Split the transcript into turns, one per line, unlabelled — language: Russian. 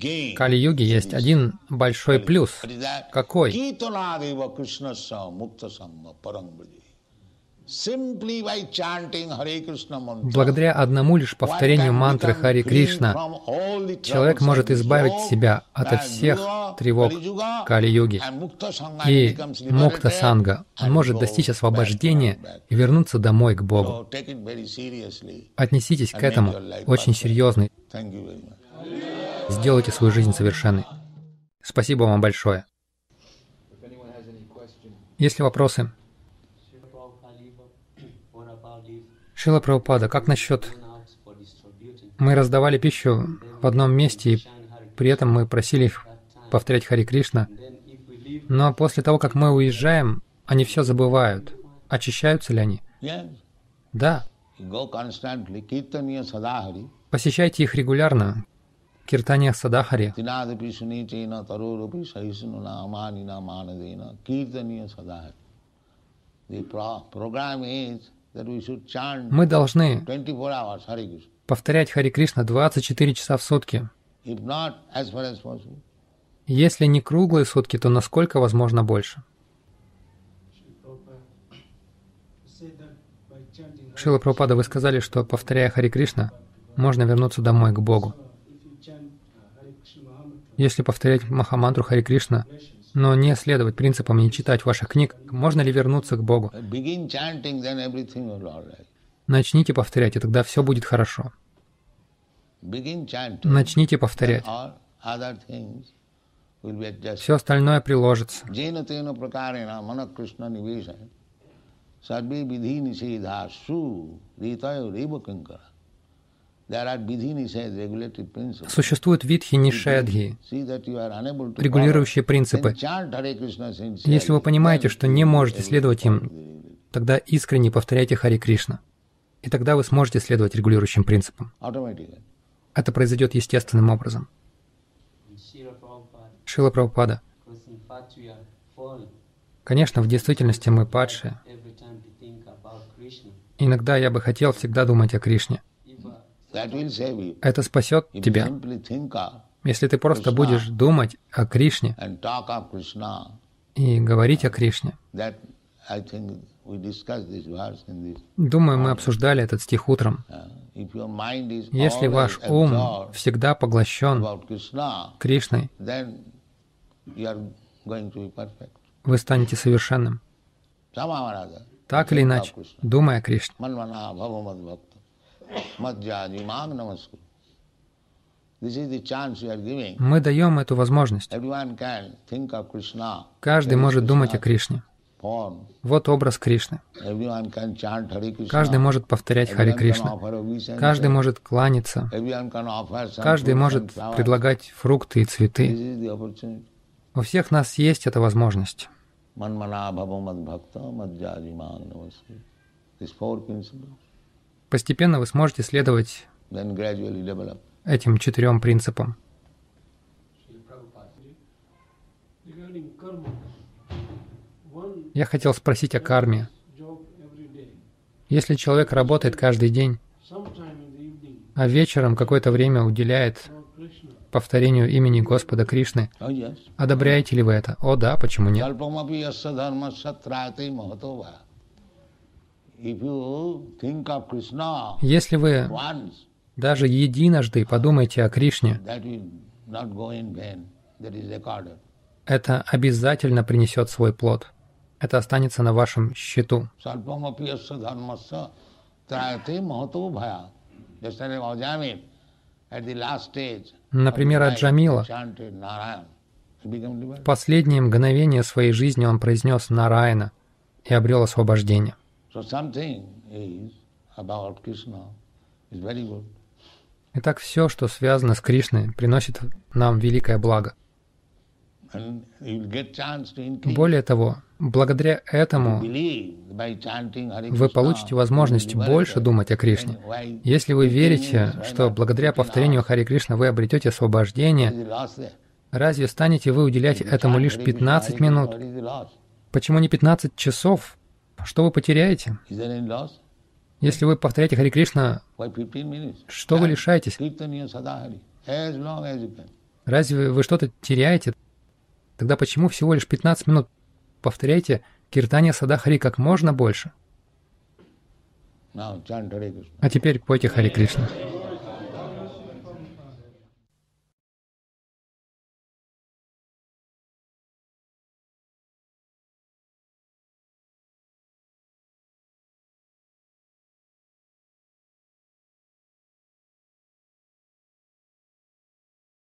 Кали-юге есть один большой плюс. Какой? Благодаря одному лишь повторению мантры Хари Кришна человек может избавить себя ото всех тревог Кали-юги и мукта-санга. Он может достичь освобождения и вернуться домой к Богу. Отнеситесь к этому очень серьезно. Сделайте свою жизнь совершенной. Спасибо вам большое. Есть ли вопросы? Шрила Прабхупада, как насчет... Мы раздавали пищу в одном месте, и при этом мы просили их повторять Хари Кришна. Но после того, как мы уезжаем, они все забывают. Очищаются ли они? Да. Посещайте их регулярно. Киртания Садахари. Мы должны повторять Хари Кришна 24 часа в сутки. Если не круглые сутки, то насколько возможно больше. Шрила Прабхупада, вы сказали, что, повторяя Хари Кришна, можно вернуться домой к Богу. Если повторять Махамантру Хари Кришна, но не следовать принципам, не читать ваших книг, можно ли вернуться к Богу? Начните повторять, и тогда все будет хорошо. Начните повторять. Все остальное приложится. Существуют видхи нишедхи, регулирующие принципы. Если вы понимаете, что не можете следовать им, тогда искренне повторяйте Хари Кришна. И тогда вы сможете следовать регулирующим принципам. Это произойдет естественным образом. Шрила Прабхупада. Конечно, в действительности мы падшие. Иногда я бы хотел всегда думать о Кришне. Это спасет тебя. Если ты просто будешь думать о Кришне и говорить о Кришне. Думаю, мы обсуждали этот стих утром. Если ваш ум всегда поглощен Кришной, вы станете совершенным. Так или иначе, думая о Кришне. Мы даем эту возможность. Каждый может думать о Кришне. Вот образ Кришны. Каждый может повторять Хари Кришна. Каждый может кланяться. Каждый может предлагать фрукты и цветы. У всех нас есть эта возможность. Постепенно вы сможете следовать этим 4 принципам. Я хотел спросить о карме. Если человек работает каждый день, а вечером какое-то время уделяет повторению имени Господа Кришны, одобряете ли вы это? О да, почему нет? Если вы даже единожды подумаете о Кришне, это обязательно принесет свой плод. Это останется на вашем счету. Например, Аджамила. В последние мгновения своей жизни он произнес Нараяна и обрел освобождение. Итак, все, что связано с Кришной, приносит нам великое благо. Более того, благодаря этому вы получите возможность больше думать о Кришне. Если вы верите, что благодаря повторению Хари Кришна вы обретете освобождение, разве станете вы уделять этому лишь 15 минут? Почему не 15 часов? Что вы потеряете? Если вы повторяете Хари Кришна, что вы лишаетесь? Разве вы что-то теряете? Тогда почему всего лишь 15 минут повторяйте Киртания Сада Хари как можно больше? А теперь пойте Хари Кришна.